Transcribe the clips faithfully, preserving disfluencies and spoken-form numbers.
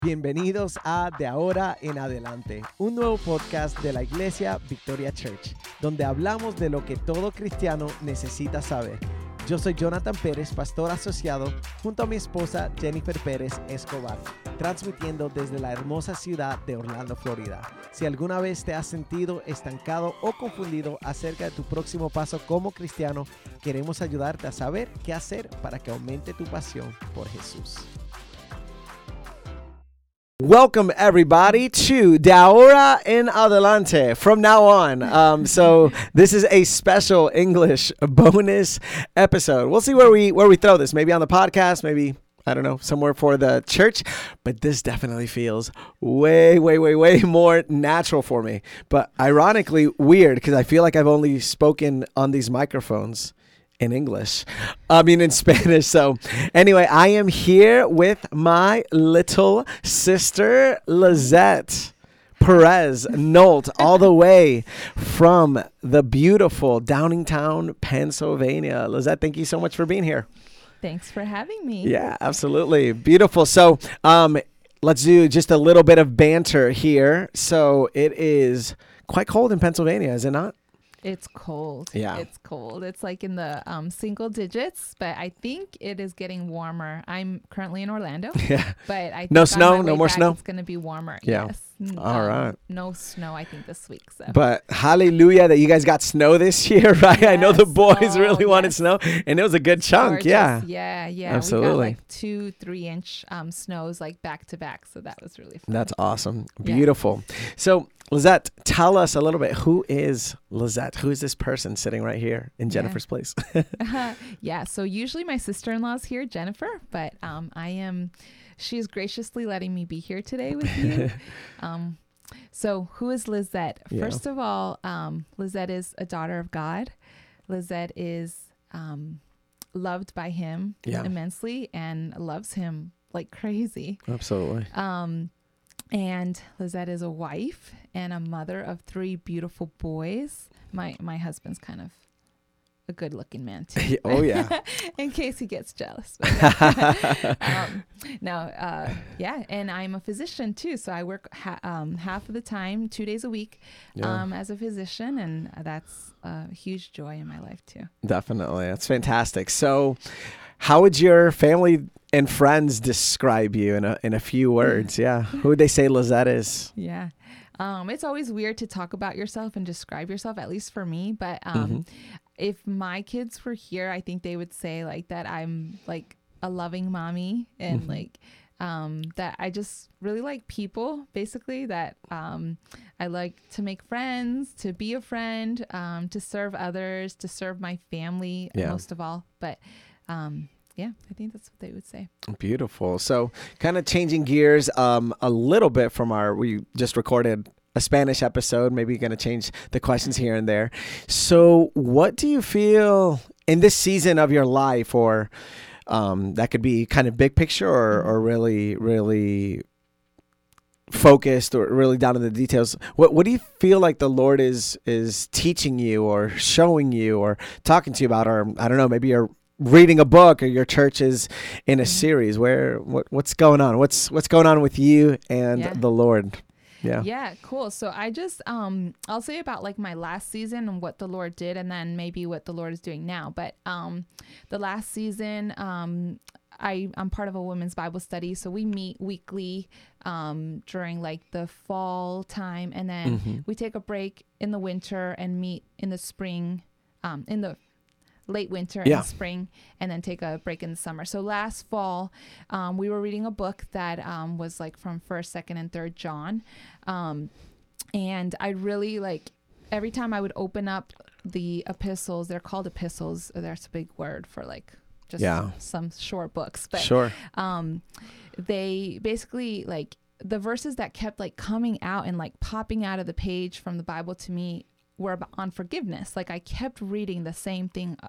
Bienvenidos a De Ahora en Adelante, un nuevo podcast de la Iglesia Victoria Church, donde hablamos de lo que todo cristiano necesita saber. Yo soy Jonathan Pérez, pastor asociado, junto a mi esposa Jennifer Pérez Escobar, transmitiendo desde la hermosa ciudad de Orlando, Florida. Si alguna vez te has sentido estancado o confundido acerca de tu próximo paso como cristiano, queremos ayudarte a saber qué hacer para que aumente tu pasión por Jesús. Welcome, everybody, to De Ahora en Adelante, from now on. Um, so this is a special English bonus episode. We'll see where we where we throw this. Maybe on the podcast, maybe, I don't know, somewhere for the church. But this definitely feels way, way, way, way more natural for me. But ironically weird, because I feel like I've only spoken on these microphones in English, I mean in Spanish. So anyway, I am here with my little sister, Lizette Perez Nolt, all the way from the beautiful Downingtown, Pennsylvania. Lizette, thank you so much for being here. Thanks for having me. Yeah, absolutely. Beautiful. So um, let's do just a little bit of banter here. So it is quite cold in Pennsylvania, is it not? It's cold. Yeah. It's cold. It's like in the um, single digits, but I think it is getting warmer. I'm currently in Orlando. Yeah. But I think No on snow? my No way more back, snow? It's going to be warmer. Yeah. Yes. Mm, All um, right. No snow, I think, this week. So. But hallelujah that you guys got snow this year, right? Yes. I know the boys Oh, really wanted yes. snow, and it was a good chunk. Gorgeous. Yeah. Yeah. Yeah. Absolutely. We got like two, three inch um, snows like back to back. So that was really fun. That's awesome. Yeah. Beautiful. So, Lizette, tell us a little bit. Who is Lizette? Who is this person sitting right here in Jennifer's Yeah. place? Yeah. So usually my sister-in-law is here, Jennifer, but um, I am, she's graciously letting me be here today with you. um, so who is Lizette? Yeah. First of all, um, Lizette is a daughter of God. Lizette is um, loved by him Yeah. immensely and loves him like crazy. Absolutely. Um, and Lizette is a wife and a mother of three beautiful boys. My my husband's kind of a good looking man too. Oh, yeah. In case he gets jealous. But, um, no, uh, yeah. And I'm a physician too. So I work ha- um, half of the time, two days a week Yeah. um, as a physician. And that's a huge joy in my life too. Definitely. That's fantastic. So, how would your family and friends describe you in a in a few words? Yeah. Who would they say Lizette is? Yeah. Um, it's always weird to talk about yourself and describe yourself, at least for me. But um, Mhm. if my kids were here, I think they would say like that I'm like a loving mommy and Mhm. like um, that I just really like people, basically, that um, I like to make friends, to be a friend, um, to serve others, to serve my family Yeah. most of all. But um, yeah, I think that's what they would say. Beautiful. So, kind of changing gears um, a little bit from our, we just recorded a Spanish episode. Maybe you're going to change the questions here and there. So, what do you feel in this season of your life, or um, that could be kind of big picture or, or really, really focused or really down to the details? What what do you feel like the Lord is is teaching you or showing you or talking to you about? Or I don't know, maybe you're reading a book or your church is in a Mhm. series. Where what what's going on? What's what's going on with you and Yeah. the Lord? Yeah. Yeah, cool. So I just um I'll say about like my last season and what the Lord did, and then maybe what the Lord is doing now. But um the last season, um I, I'm part of a women's Bible study. So we meet weekly um during like the fall time, and then Mhm. we take a break in the winter and meet in the spring, um in the late winter Yeah. and spring, and then take a break in the summer. So last fall, um, we were reading a book that um, was like from first, second, and third John. Um, and I really like every time I would open up the epistles, they're called epistles. That's a big word for like just Yeah. some short books. But Sure. um, they basically like the verses that kept like coming out and like popping out of the page from the Bible to me were about, on forgiveness. Like I kept reading the same thing uh,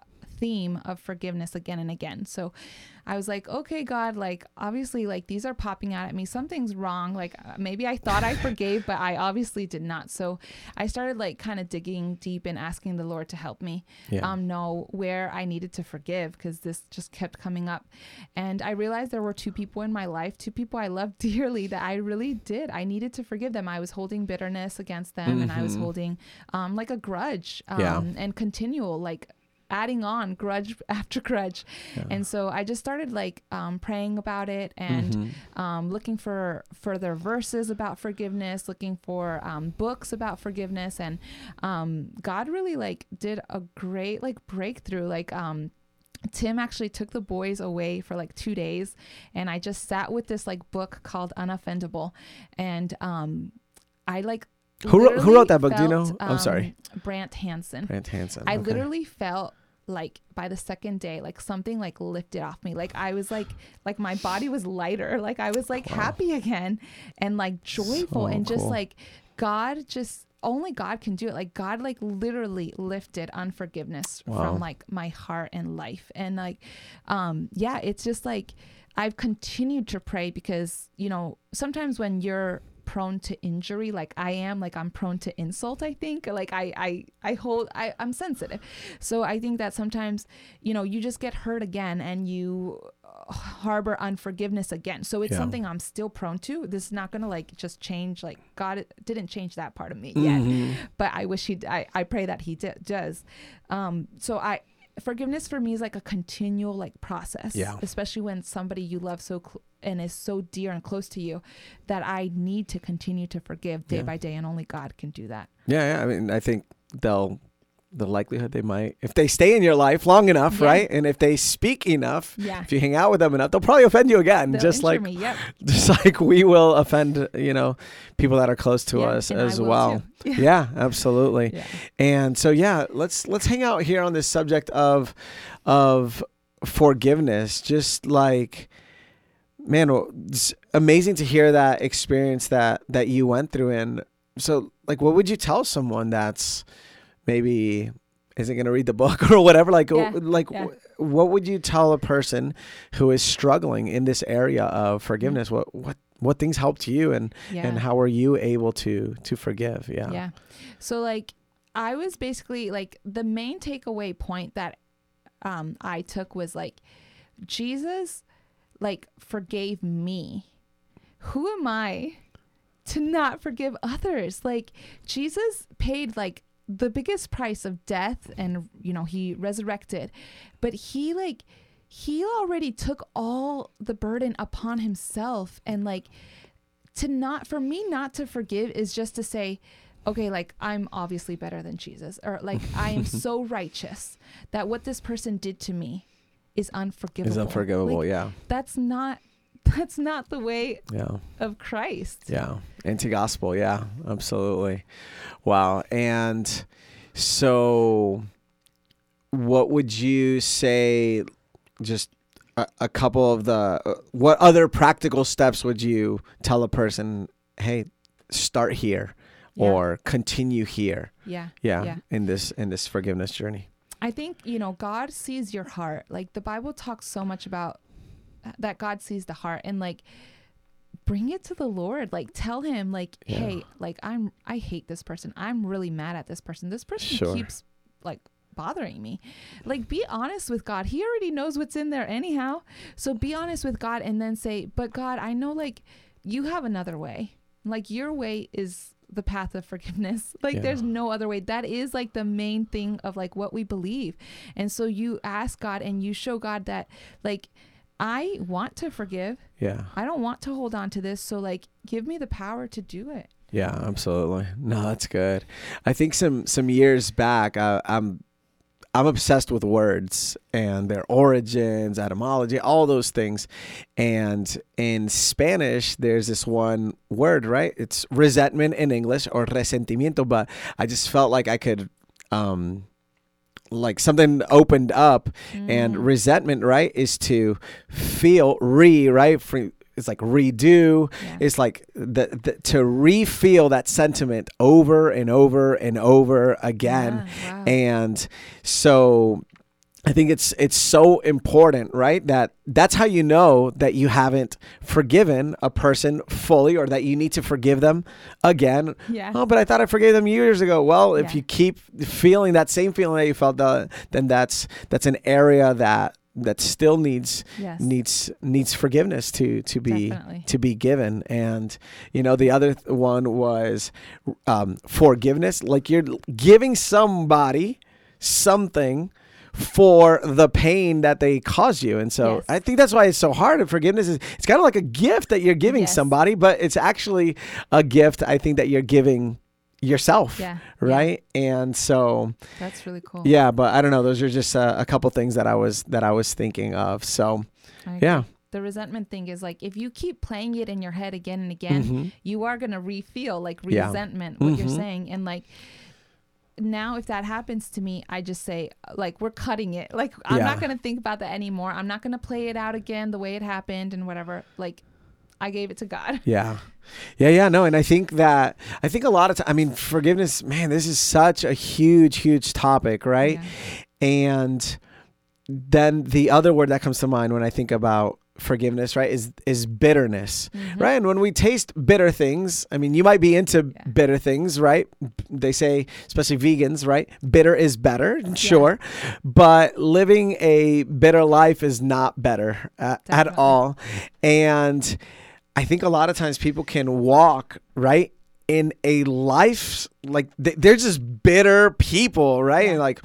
theme of forgiveness again and again. So I was like, okay, God, like, obviously, like, these are popping out at me. Something's wrong. Like, uh, maybe I thought I forgave, but I obviously did not. So I started, like, kind of digging deep and asking the Lord to help me Yeah. um, know where I needed to forgive, because this just kept coming up. And I realized there were two people in my life, two people I loved dearly, that I really did. I needed to forgive them. I was holding bitterness against them, Mm-hmm. and I was holding, um, like, a grudge um, Yeah. and continual, like, adding on grudge after grudge. Yeah. And so I just started like um, praying about it and Mhm. um, looking for further verses about forgiveness, looking for um, books about forgiveness. And um, God really like did a great like breakthrough. Like um, Tim actually took the boys away for like two days and I just sat with this like book called Unoffendable. And um, I like Who wrote, who literally wrote that book? Do you know? felt, I'm sorry. um, Brant Hansen. Brant Hansen. I okay. literally felt like by the second day, like something like lifted off me. Like I was like, like my body was lighter. Like I was like Wow. happy again and like joyful So and just cool. like God just only God can do it. Like God like literally lifted unforgiveness Wow. from like my heart and life. And like, um, yeah, it's just like, I've continued to pray because, you know, sometimes when you're prone to injury like I am, like I'm prone to insult, I think. Like I I I hold I I'm sensitive. So I think that sometimes, you know, you just get hurt again and you harbor unforgiveness again. So it's Yeah. something I'm still prone to. This is not going to like just change. Like God didn't change that part of me yet, Mhm. but I wish he I I pray that he d- does. Um so I forgiveness for me is like a continual like process, Yeah. especially when somebody you love so cl- and is so dear and close to you, that I need to continue to forgive day Yeah. by day, and only God can do that. Yeah, yeah. I mean, I think they'll, the likelihood they might, if they stay in your life long enough, Yeah. right? And if they speak enough, Yeah. if you hang out with them enough, they'll probably offend you again. They'll just injure like, me. Yep. just like we will offend, you know, people that are close to Yeah, us and I as will well. too. Yeah. Yeah, absolutely. Yeah. And so, yeah, let's let's hang out here on this subject of of forgiveness. Just like, man, it's amazing to hear that experience that that you went through. And so, like, what would you tell someone that's maybe isn't going to read the book or whatever? Like, Yeah, like, yeah. what would you tell a person who is struggling in this area of forgiveness? What what what things helped you, and Yeah. and how were you able to to forgive? Yeah. Yeah. So like I was basically like the main takeaway point that um I took was like Jesus like forgave me. Who am I to not forgive others? Like Jesus paid like the biggest price of death, and you know he resurrected, but he like he already took all the burden upon himself. And like to not for me not to forgive is just to say, okay, like I'm obviously better than Jesus, or like I am so righteous that what this person did to me is unforgivable. Is unforgivable. Like, yeah. that's not that's not the way Yeah. of Christ. Yeah. Anti-gospel. Yeah, absolutely. Wow. And so what would you say, just a, a couple of the, uh, what other practical steps would you tell a person, hey, start here Yeah. or continue here? Yeah. Yeah, Yeah. in this, in this forgiveness journey. I think, you know, God sees your heart. Like the Bible talks so much about that God sees the heart, and like bring it to the Lord. Like tell him like, Yeah. hey, like I'm, I hate this person. I'm really mad at this person. This person Sure. keeps like bothering me. Like be honest with God. He already knows what's in there anyhow. So be honest with God and then say, but God, I know like you have another way. Like your way is the path of forgiveness. Like Yeah. there's no other way. That is like the main thing of like what we believe. And so you ask God and you show God that like, I want to forgive. Yeah. I don't want to hold on to this. So like, give me the power to do it. Yeah, absolutely. No, that's good. I think some, some years back, uh, I'm, I'm obsessed with words and their origins, etymology, all those things. And in Spanish, there's this one word, right? It's resentment in English, or resentimiento, but I just felt like I could, um, like something opened up. And Mm. resentment, right, is to feel re, right? For, it's like redo. Yeah. It's like the, the to re-feel that sentiment over and over and over again. Yeah, wow. And so I think it's it's so important, right? That that's how you know that you haven't forgiven a person fully, or that you need to forgive them again. Yeah. Oh, but I thought I forgave them years ago. Well, if Yeah. you keep feeling that same feeling that you felt, uh, then that's that's an area that that still needs Yes. needs needs forgiveness to to be Definitely. to be given. And you know, the other th- one was um, forgiveness. Like you're giving somebody something for the pain that they caused you. And so Yes. I think that's why it's so hard. And forgiveness is, it's kind of like a gift that you're giving Yes. somebody, but it's actually a gift, I think, that you're giving yourself. Yeah. Right. And so, That's really cool. yeah, but I don't know. Those are just a, a couple things that I was, that I was thinking of. So I agree. yeah. The resentment thing is like, if you keep playing it in your head again and again, Mhm. you are going to re-feel like Yeah. resentment, what you're Mhm. saying. And like, now if that happens to me, I just say like, we're cutting it. Like, I'm Yeah. not going to think about that anymore. I'm not going to play it out again the way it happened and whatever. Like, I gave it to God. Yeah. Yeah, yeah, no, and I think that I think a lot of time, I mean, forgiveness, man, this is such a huge, huge topic, right? Yeah. And then the other word that comes to mind when I think about forgiveness, right, is is bitterness, Mhm. right? And when we taste bitter things, I mean, you might be into Yeah. bitter things, right? They say, especially vegans, right? Bitter is better, sure, but living a bitter life is not better at, at Definitely. all. And I think a lot of times people can walk, right, in a life like th- they're just bitter people, right? Yeah. And like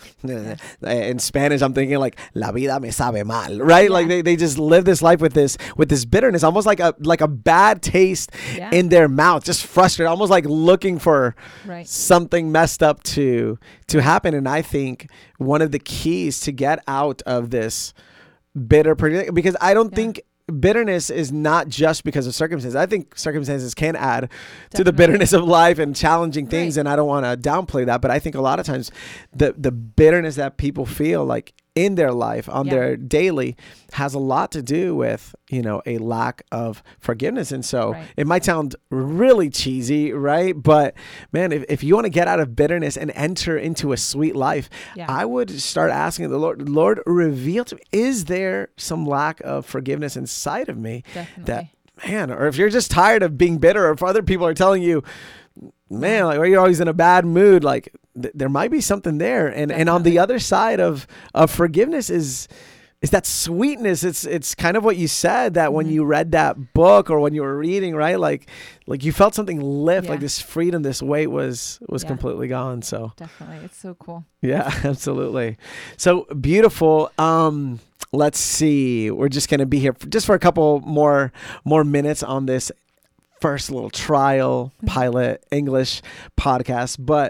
in Spanish, I'm thinking like "La vida me sabe mal," right? Yeah. Like they, they just live this life with this with this bitterness, almost like a like a bad taste Yeah. in their mouth, just frustrated, almost like looking for Right. something messed up to to happen. And I think one of the keys to get out of this bitter predic- because I don't Yeah. think bitterness is not just because of circumstances. I think circumstances can add to the Definitely. bitterness of life and challenging things, Right. and I don't want to downplay that, but I think a lot of times the the bitterness that people feel like in their life on Yeah. their daily has a lot to do with, you know, a lack of forgiveness. And so Right. it might sound really cheesy, right? But man, if, if you want to get out of bitterness and enter into a sweet life, Yeah. I would start asking the Lord, Lord, reveal to me, is there some lack of forgiveness inside of me Definitely. that, man, or if you're just tired of being bitter, or if other people are telling you, man, like, or you're always in a bad mood, like th- there might be something there. And and on the Definitely. other side of of forgiveness is is that sweetness. It's it's kind of what you said, that when Mhm. you read that book or when you were reading, right? Like like you felt something lift, like Yeah. this freedom, this weight was was Yeah. completely gone. So Definitely. It's so cool. yeah, absolutely. So beautiful. Um, let's see. We're just gonna be here for, just for a couple more more minutes on this first little trial pilot English podcast, but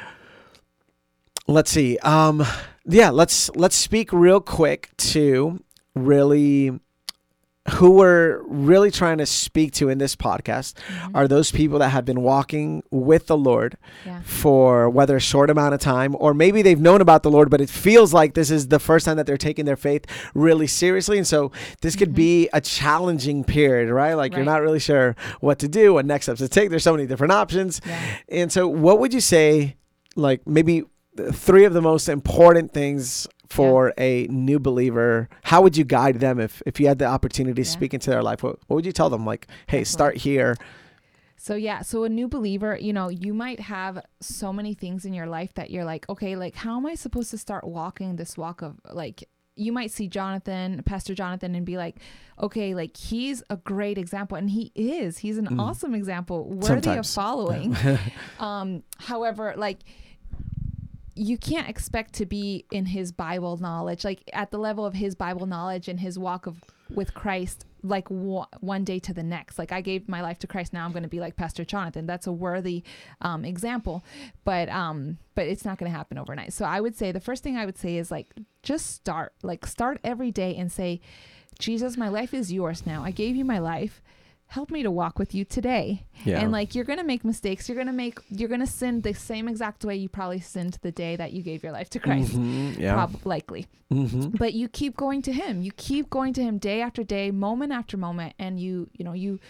let's see. Um, yeah, let's let's speak real quick to really who we're really trying to speak to in this podcast Mhm. are those people that have been walking with the Lord Yeah. for whether a short amount of time, or maybe they've known about the Lord, but it feels like this is the first time that they're taking their faith really seriously. And so this could Mhm. be a challenging period, right? Like you're Right. not really sure what to do, what next steps to take. There's so many different options. Yeah. And so what would you say, like maybe the three of the most important things for a new believer? How would you guide them if, if you had the opportunity to Yeah. speak into their life? What, what would you tell them? Like, hey, Definitely. start here. So yeah, so a new believer, you know, you might have so many things in your life that you're like, okay, like how am I supposed to start walking this walk of like, you might see Jonathan, Pastor Jonathan, and be like, okay, like he's a great example, and he is, he's an Mm. awesome example, worthy Sometimes. of following. um, however, like you can't expect to be in his Bible knowledge, like at the level of his Bible knowledge and his walk of with Christ, like w- one day to the next. Like I gave my life to Christ, now I'm going to be like Pastor Jonathan. That's a worthy um, example, but um, but it's not going to happen overnight. So I would say the first thing I would say is like just start, like start every day and say, Jesus, my life is yours now. I gave you my life. Help me to walk with you today. Yeah. And like, you're going to make mistakes. You're going to make, you're going to sin the same exact way you probably sinned the day that you gave your life to Christ. Mhm, yeah. Prob- likely. Mhm. But you keep going to him. You keep going to him day after day, moment after moment. And you, you know, you,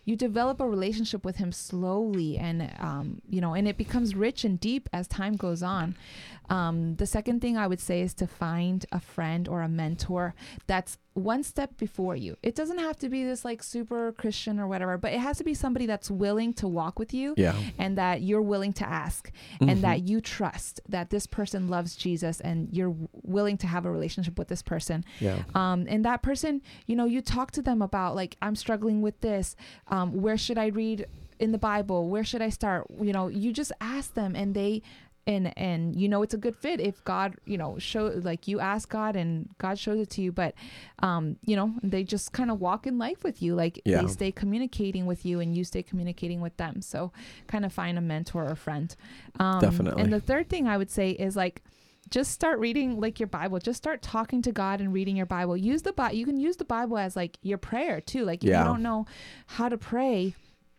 you develop a relationship with him slowly, and um, you know, and it becomes rich and deep as time goes on. Um, the second thing I would say is to find a friend or a mentor that's one step before you. It doesn't have to be this like super Christian or whatever, but it has to be somebody that's willing to walk with you, Yeah. and that you're willing to ask, Mhm. and that you trust that this person loves Jesus, and you're w- willing to have a relationship with this person. Yeah. Um, and that person, you know, you talk to them about like, I'm struggling with this. Um, where should I read in the Bible? Where should I start? You know, you just ask them, and they, and, and, you know, it's a good fit if God, you know, show, like you ask God and God shows it to you, but, um, you know, they just kind of walk in life with you. Like Yeah. they stay communicating with you, and you stay communicating with them. So kind of find a mentor or friend. Um, Definitely. And the third thing I would say is like, just start reading like your Bible. Just start talking to God and reading your Bible. Use the Bible. You can use the Bible as like your prayer too. Like if Yeah. you don't know how to pray,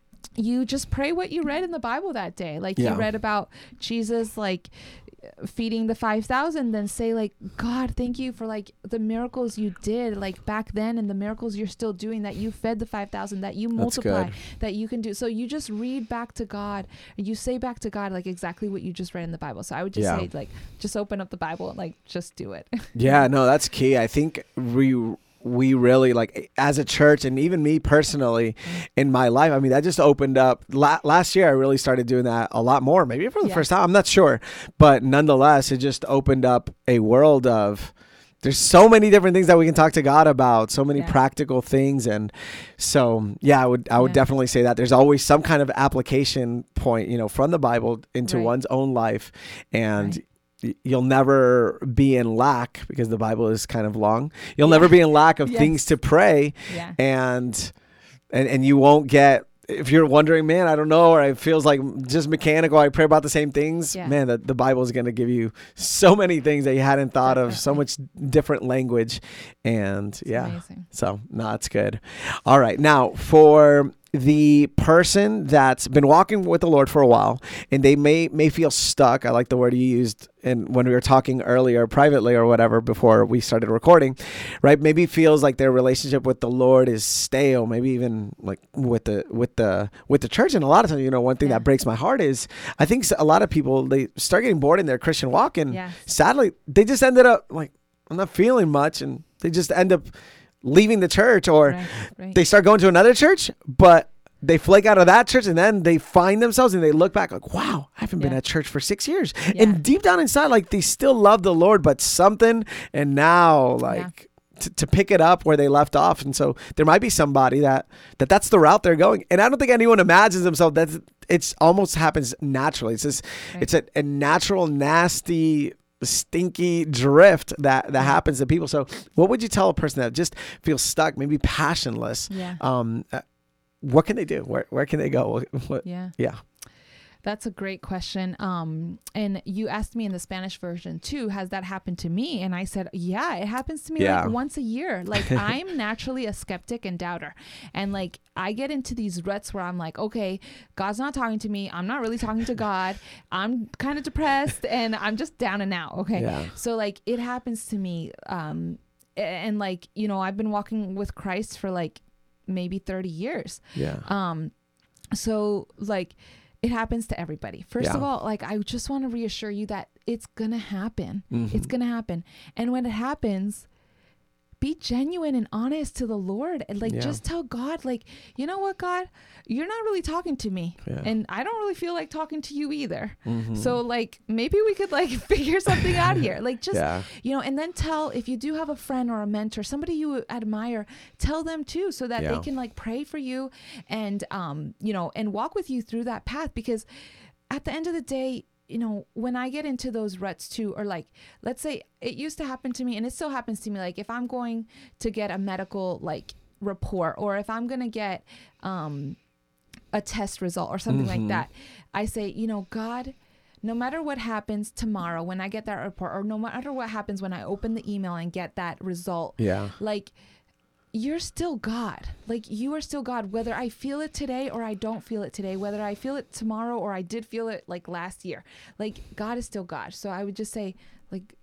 you just pray what you read in the Bible that day. Like Yeah. you read about Jesus, like feeding the five thousand, then say like, God, thank you for like the miracles you did like back then, and the miracles you're still doing, that you fed the five thousand, that you That's multiply, good. that you can do. So you just read back to God, you say back to God, like exactly what you just read in the Bible. So I would just Yeah. say like, just open up the Bible and like, just do it. Yeah, no, that's key. I think we we really like as a church, and even me personally in my life. I mean, that just opened up la- last year. I really started doing that a lot more, maybe for the Yeah. first time. I'm not sure, but nonetheless, it just opened up a world of. There's so many different things that we can talk to God about, so many Yeah. practical things. And so, yeah, I would, I would Yeah. definitely say that there's always some kind of application point, you know, from the Bible into Right. one's own life. And Right. y- you'll never be in lack, because the Bible is kind of long. You'll Yeah. never be in lack of Yes. things to pray. Yeah. And, and, and you won't get, if you're wondering, man, I don't know, or it feels like just mechanical, I pray about the same things, Yeah. man, the, the Bible is going to give you so many things that you hadn't thought of, so much different language. And It's yeah, amazing. so no, it's good. All right. Now, for the person that's been walking with the Lord for a while, and they may may feel stuck. I like the word you used and when we were talking earlier privately or whatever before we started recording, right? Maybe feels like their relationship with the Lord is stale, maybe even like with the with the with the church. And a lot of times, you know, one thing Yeah. that breaks my heart is I think a lot of people, they start getting bored in their Christian walk, and Yes. sadly they just ended up like, I'm not feeling much, and they just end up leaving the church, or Right, right. they start going to another church, but they flake out of that church, and then they find themselves and they look back like, wow, I haven't been Yeah. at church for six years. Yeah. And deep down inside, like they still love the Lord, but something, and now like to, to pick it up where they left off. And so there might be somebody that, that that's the route they're going. And I don't think anyone imagines themselves that it's almost happens naturally. It's just, Right. it's a, a natural, nasty, stinky drift that that happens to people. So what would you tell a person that just feels stuck, maybe passionless? Yeah. Um, uh, what can they do? Where where can they go? What, what, Yeah. yeah. That's a great question. Um, and you asked me in the Spanish version too, has that happened to me? And I said, yeah, it happens to me Yeah. like once a year. Like I'm naturally a skeptic and doubter. And like, I get into these ruts where I'm like, okay, God's not talking to me. I'm not really talking to God. I'm kind of depressed and I'm just down and out. Okay. Yeah. So like it happens to me. Um, a- and like, you know, I've been walking with Christ for like maybe thirty years. Yeah. Um, so like it happens to everybody. First Yeah. of all, like I just want to reassure you that it's gonna happen. Mhm. It's gonna happen. And when it happens, be genuine and honest to the Lord, and like Yeah. just tell God, like, you know what, God, you're not really talking to me, Yeah. and I don't really feel like talking to you either. Mhm. So like maybe we could like figure something out here. Like just yeah. you know, and then tell, if you do have a friend or a mentor, somebody you admire, tell them too, so that Yeah. they can like pray for you and, um, you know, and walk with you through that path. Because at the end of the day, you know, when I get into those ruts too, or like, let's say it used to happen to me and it still happens to me. Like if I'm going to get a medical like report, or if I'm going to get, um, a test result or something Mhm. like that, I say, you know, God, no matter what happens tomorrow when I get that report, or no matter what happens when I open the email and get that result, Yeah. like you're still God. Like you are still God, whether I feel it today or I don't feel it today, whether I feel it tomorrow or I did feel it like last year, like God is still God. So I would just say, like,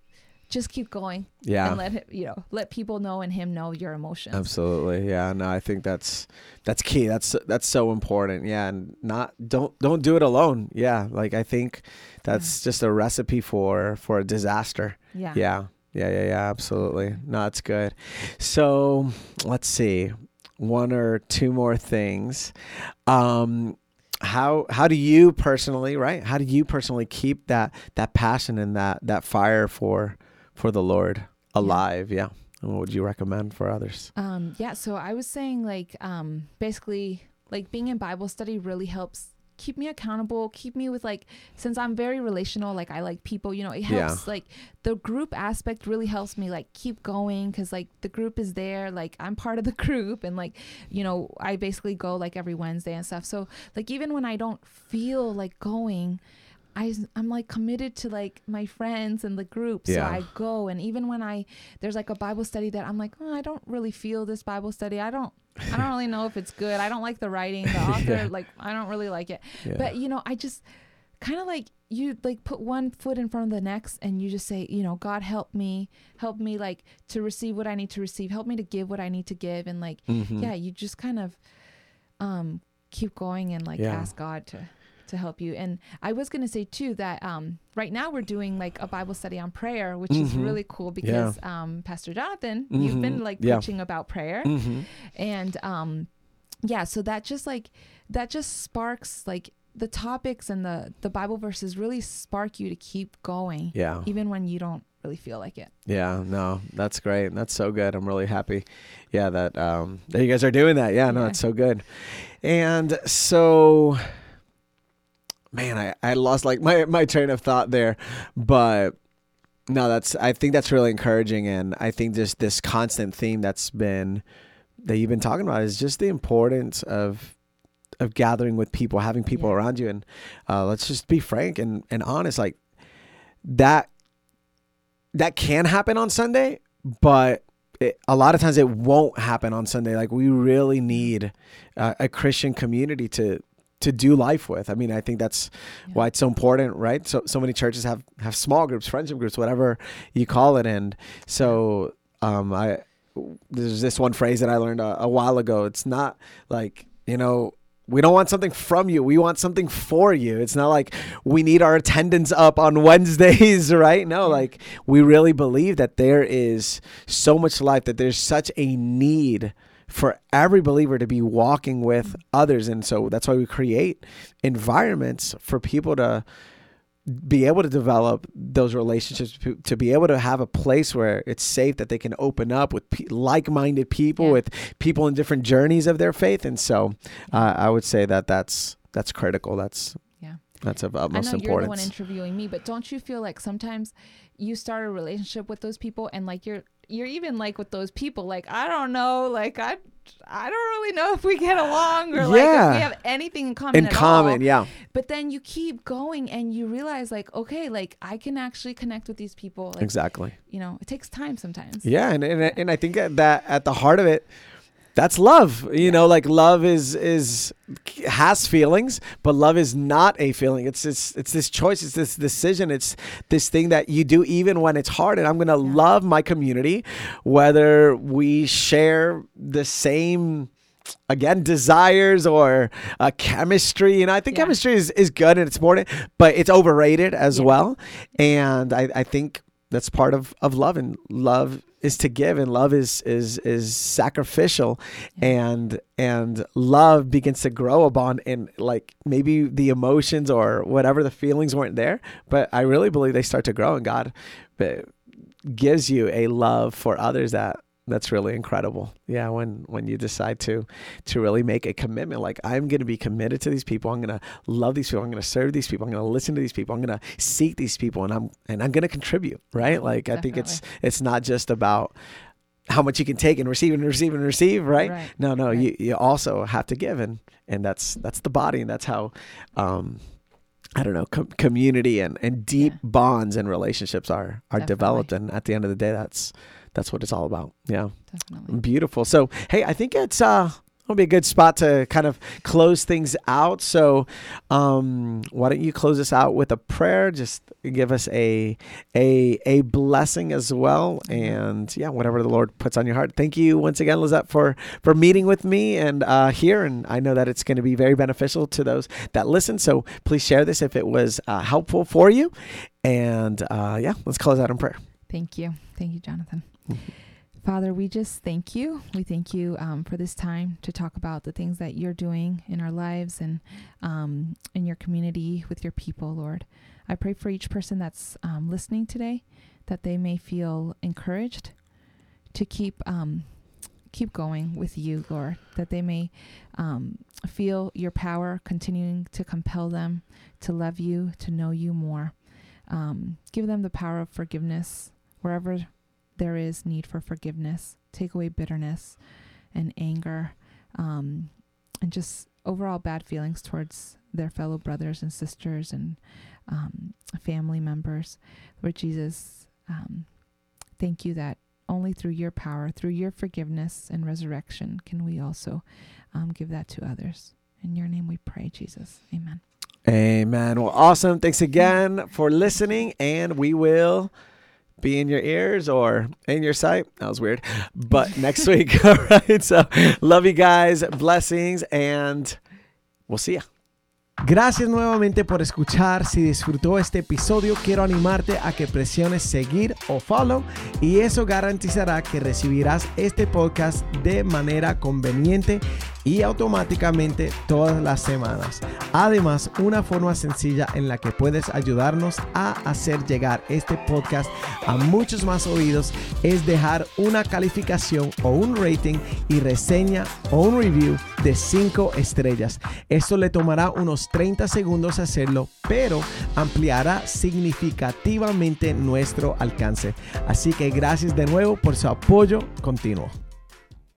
just keep going. Yeah. And let him, you know, let people know and him know your emotions. Absolutely. Yeah. No, I think that's, that's key. That's, that's so important. Yeah. And not, don't, don't do it alone. Yeah. Like, I think that's yeah. just a recipe for, for a disaster. Yeah. Yeah. Yeah. Yeah. Yeah. Absolutely. No, it's good. So let's see. One or two more things. Um, how how do you personally, right? How do you personally keep that that passion and that that fire for for the Lord alive? Yeah. And what would you recommend for others? Um, yeah. So I was saying, like, um, basically, like being in Bible study really helps keep me accountable, keep me with, like, since I'm very relational, like I like people, you know, it helps, yeah. like the group aspect really helps me like keep going. Cause like the group is there, like I'm part of the group, and like, you know, I basically go like every Wednesday and stuff. So like, even when I don't feel like going, I, I'm like committed to like my friends and the group. So yeah. I go. And even when I, there's like a Bible study that I'm like, oh, I don't really feel this Bible study. I don't, I don't really know if it's good. I don't like the writing, the author, yeah. like, I don't really like it. Yeah. But, you know, I just kind of like, you like put one foot in front of the next and you just say, you know, God, help me, help me like to receive what I need to receive. Help me to give what I need to give. And like, mm-hmm. yeah, you just kind of um, keep going and like yeah. ask God to to help you. And I was going to say too that um right now we're doing like a Bible study on prayer, which mm-hmm. is really cool because yeah. um Pastor Jonathan, mm-hmm. you've been like yeah. preaching about prayer. Mm-hmm. And um yeah, so that just like that just sparks like the topics and the the Bible verses really spark you to keep going. Yeah. Even when you don't really feel like it. Yeah, no, that's great. That's so good. I'm really happy. Yeah, that um that you guys are doing that. Yeah, no, yeah. It's so good. And so man, I, I lost like my, my train of thought there, but no, that's, I think that's really encouraging. And I think just this constant theme that's been, that you've been talking about is just the importance of, of gathering with people, having people yeah. around you. And uh, let's just be frank and, and honest, like that, that can happen on Sunday, but It, a lot of times it won't happen on Sunday. Like we really need uh, a Christian community to, to do life with. I mean, I think that's yeah. why it's so important, right? So, so many churches have, have small groups, friendship groups, whatever you call it. And so, um, I, there's this one phrase that I learned a, a while ago. It's not like, you know, we don't want something from you. We want something for you. It's not like we need our attendance up on Wednesdays, right? No, like we really believe that there is so much life, that there's such a need for every believer to be walking with others. And so that's why we create environments for people to be able to develop those relationships, to be able to have a place where it's safe, that they can open up with pe- like-minded people, yeah. with people in different journeys of their faith. And so uh, I would say that that's, that's critical. That's, yeah. that's of utmost importance. I know you're the one interviewing me, but don't you feel like sometimes you start a relationship with those people and like you're, you're even like with those people, like, I don't know, like I, I don't really know if we get along or like yeah. if we have anything in common in at common, all. yeah. But then you keep going and you realize like, okay, like I can actually connect with these people. Like, exactly. You know, it takes time sometimes. Yeah. And, and, and I think that at the heart of it, that's love. You yeah. know, like love is, is, has feelings, but love is not a feeling. It's this, it's this choice. It's this decision. It's this thing that you do even when it's hard. And I'm going to yeah. love my community, whether we share the same, again, desires or uh, chemistry. You know, I think yeah. chemistry is, is good and it's important, but it's overrated as yeah. well. And I, I think that's part of, of love, and love is to give, and love is is is sacrificial, yeah. and and love begins to grow a bond, and like maybe the emotions or whatever the feelings weren't there, but I really believe they start to grow, and God gives you a love for others that that's really incredible. Yeah, when when you decide to to really make a commitment, like I'm going to be committed to these people, I'm going to love these people, I'm going to serve these people, I'm going to listen to these people, I'm going to seek these people, and I'm and I'm going to contribute, right? Like Definitely. I think it's it's not just about how much you can take and receive and receive and receive, right? right. No, no, right. you you also have to give, and and that's that's the body, and that's how um I don't know, com- community and, and deep yeah. bonds and relationships are are Definitely. developed, and at the end of the day, that's That's what it's all about. Yeah. Definitely. Beautiful. So, hey, I think it's uh, It'll be a good spot to kind of close things out. So um, why don't you close us out with a prayer? Just give us a a a blessing as well. And yeah, whatever the Lord puts on your heart. Thank you once again, Lizette, for, for meeting with me and uh, here. And I know that it's going to be very beneficial to those that listen. So please share this if it was uh, helpful for you. And uh, yeah, let's close out in prayer. Thank you. Thank you, Jonathan. Father, we just thank you. We thank you um, for this time to talk about the things that you're doing in our lives and um, in your community with your people, Lord. I pray for each person that's um, listening today, that they may feel encouraged to keep um, keep going with you, Lord, that they may um, feel your power continuing to compel them to love you, to know you more. Um, give them the power of forgiveness wherever there is need for forgiveness. Take away bitterness and anger um, and just overall bad feelings towards their fellow brothers and sisters and um, family members. Lord Jesus, um, thank you that only through your power, through your forgiveness and resurrection, can we also um, give that to others. In your name we pray, Jesus. Amen. Amen. Well, awesome. Thanks again for listening, and we will be in your ears or in your sight. That was weird. But next week. All right. So love you guys. Blessings, and we'll see ya. Gracias nuevamente por escuchar. Si disfrutó este episodio, quiero animarte a que presiones seguir o follow, y eso garantizará que recibirás este podcast de manera conveniente y automáticamente todas las semanas. Además, una forma sencilla en la que puedes ayudarnos a hacer llegar este podcast a muchos más oídos es dejar una calificación o un rating y reseña o un review de cinco estrellas. Esto le tomará unos treinta segundos hacerlo, pero ampliará significativamente nuestro alcance. Así que gracias de nuevo por su apoyo continuo.